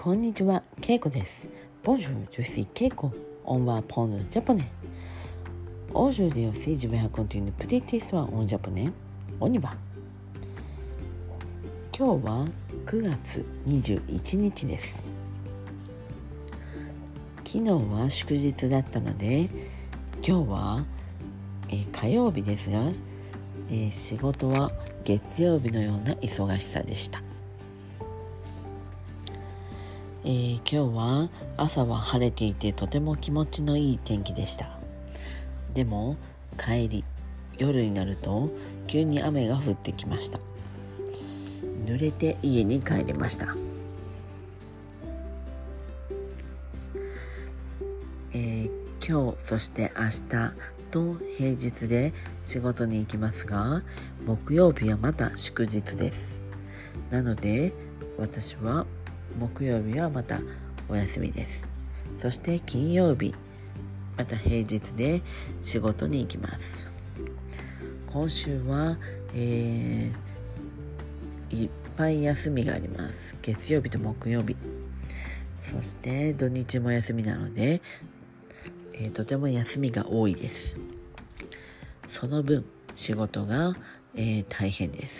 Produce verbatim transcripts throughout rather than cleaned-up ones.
こんにちは、ケイコです。Bonjour, je suis Keiko. On va apprendre le japonais. Aujourd'hui aussi, je vais raconter une petite histoire en japonais. On y va. 今日はくがつにじゅういちにちです。昨日は祝日だったので、今日は、えー、火曜日ですが、えー、仕事は月曜日のような忙しさでした。えー、今日は朝は晴れていてとても気持ちのいい天気でした。でも帰り夜になると急に雨が降ってきました。濡れて家に帰りました。えー、今日そして明日と平日で仕事に行きますが、木曜日はまた祝日です。なので私は木曜日はまたお休みです。そして金曜日また平日で仕事に行きます。今週は、えー、いっぱい休みがあります。月曜日と木曜日、そして土日も休みなので、えー、とても休みが多いです。その分仕事が、えー、大変です。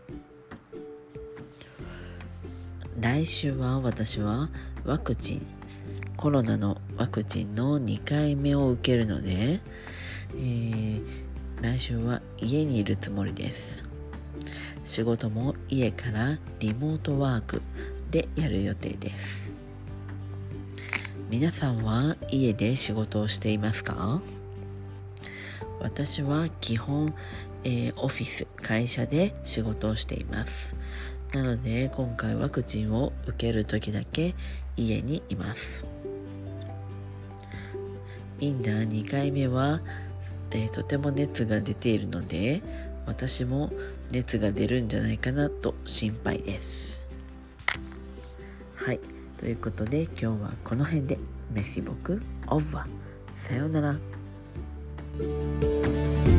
来週は私はワクチンコロナのワクチンのにかいめを受けるので、えー、来週は家にいるつもりです。仕事も家からリモートワークでやる予定です。皆さんは家で仕事をしていますか？私は基本、えー、オフィス会社で仕事をしています。なので今回ワクチンを受ける時だけ家にいます。みんなにかいめは、えー、とても熱が出ているので、私も熱が出るんじゃないかなと心配です。はい、ということで今日はこの辺で。メシボクオーバー。さようなら。